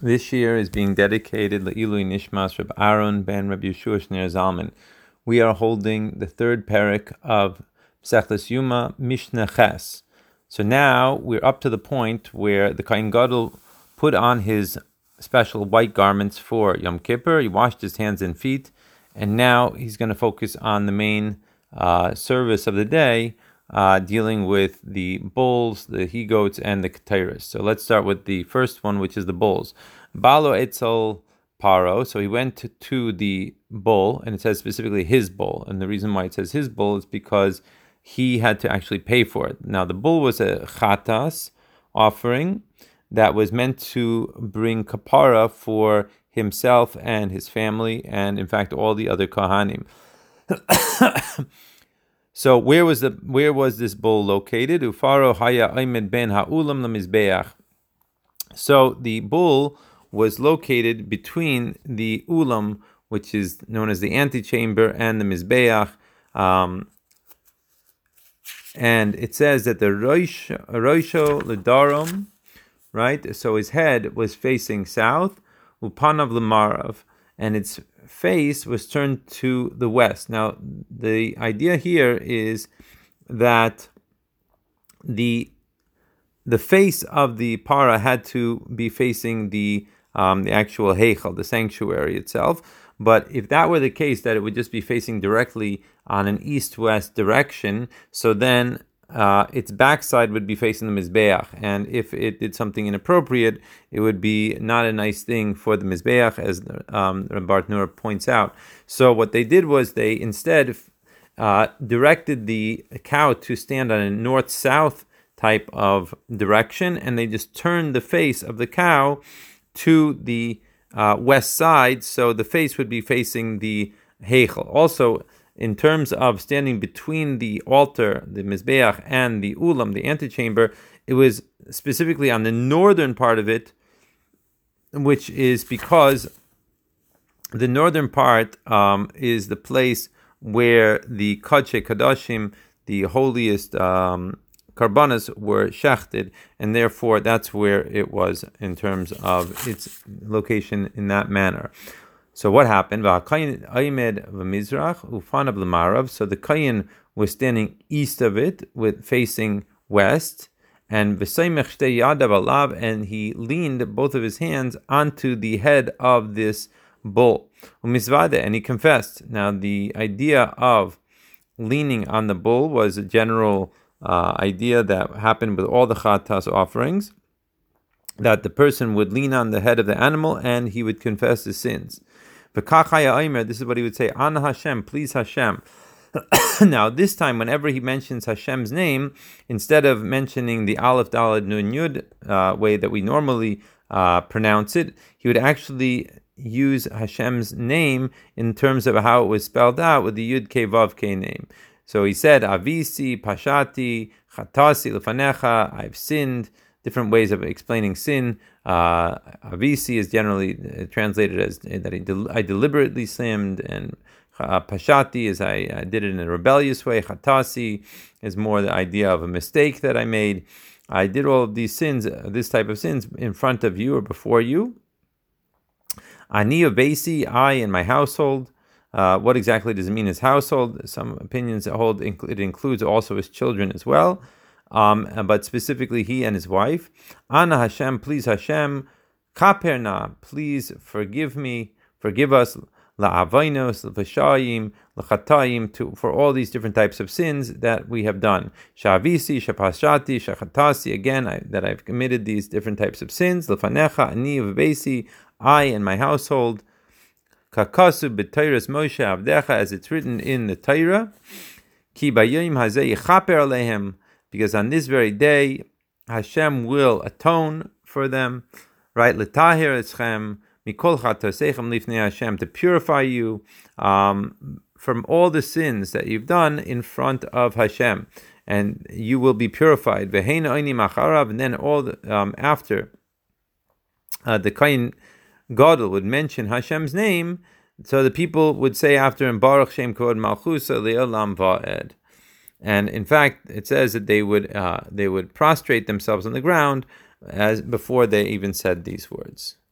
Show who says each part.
Speaker 1: This year is being dedicated Le'ilui Nishmas Reb Aaron ben Reb Yeshua Shner Zalman. We are holding the third parak of Mesechus Yuma Mishnah Ches. So now we're up to the point where the Kohen Gadol put on his special white garments for Yom Kippur. He washed his hands and feet, and now he's going to focus on the main service of the day, dealing with the bulls, the he-goats, and the ketairos. So let's start with the first one, which is the bulls. Balo etzel paro. So he went to the bull, and it says specifically his bull. And the reason why it says his bull is because he had to actually pay for it. Now, the bull was a chatas offering that was meant to bring kapara for himself and his family, and in fact all the other kohanim. So where was this bull located? Ufaro haya aimed ben ha'ulam lemizbeach. So the bull was located between the ulam, which is known as the antechamber, and the mizbeach. And it says that the roisho ledarom, right? So his head was facing south, upanav lemarav, and its face was turned to the west. Now, the idea here is that the face of the para had to be facing the actual heichal, the sanctuary itself. But if that were the case, that it would just be facing directly on an east-west direction, so then its backside would be facing the Mizbeach. And if it did something inappropriate, it would be not a nice thing for the Mizbeach, as Rabbi Nur points out. So what they did was they instead directed the cow to stand on a north-south type of direction, and they just turned the face of the cow to the west side, so the face would be facing the heichal. Also, in terms of standing between the altar, the mizbeach, and the ulam, the antechamber, it was specifically on the northern part of it, which is because the northern part is the place where the Kodesh Kodashim, the holiest karbanas, were shechted, and therefore that's where it was in terms of its location in that manner. So what happened? So the Kayin was standing east of it, with facing west, and he leaned both of his hands onto the head of this bull, and he confessed. Now, the idea of leaning on the bull was a general idea that happened with all the chatas offerings, that the person would lean on the head of the animal and he would confess his sins. This is what he would say: Ana Hashem, please Hashem. Now, this time, whenever he mentions Hashem's name, instead of mentioning the Aleph Daled Nun Yud way that we normally pronounce it, he would actually use Hashem's name in terms of how it was spelled out with the Yud Kei Vav Kei name. So he said, Avisi, Pashati, Chatasi, Lefanecha, I've sinned. Different ways of explaining sin. Avisi is generally translated as that I deliberately sinned, and Pashati is I did it in a rebellious way. Chatasi is more the idea of a mistake that I made. I did all of these sins, this type of sins, in front of you or before you. Ani Avesi, I and my household. What exactly does it mean, his household? Some opinions hold it includes also his children as well, but specifically he and his wife. Ana Hashem, please Hashem. Kaperna, please forgive me, forgive us. La'avainos, l'vashayim, l'chatayim, for all these different types of sins that we have done. Shavisi, shapashati, shachatasi, again, that I've committed these different types of sins. L'fanecha, ani v'beisi, I and my household. Kakasu b'teiras Moshe avdecha, as it's written in the Torah. Ki b'yom hazeh yichaper alehem, because on this very day Hashem will atone for them. Right, l'tahir eschem mikol chatoseichem lifnei Hashem, to purify you from all the sins that you've done in front of Hashem, and you will be purified. V'heina oini macharav, and then all after the Kohen Gadol would mention Hashem's name, so the people would say after him, Baruch Shem Kod Malchusa Le'olam Va'ed. And in fact, it says that they would prostrate themselves on the ground as before they even said these words.